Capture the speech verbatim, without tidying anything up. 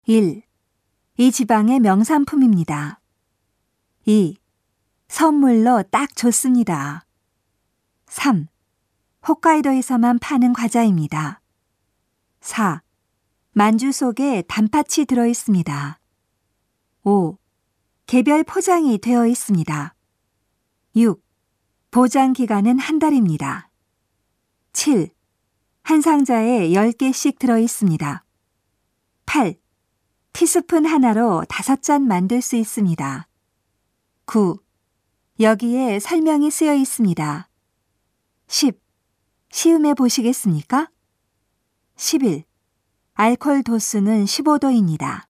일. 이 지방의 명산품입니다. 이. 선물로 딱 좋습니다. 삼. 홋카이도에서만 파는 과자입니다. 사. 만주 속에 단팥이 들어 있습니다. 오. 개별 포장이 되어 있습니다. 육. 보장 기간은 한 달입니다. 칠. 한 상자에 열 개씩 들어 있습니다. 팔. 티스푼 하나로 다섯 잔 만들 수 있습니다. 구. 여기에 설명이 쓰여 있습니다. 십. 시음해 보시겠습니까? 십일. 알코올 도수는 십오 도입니다.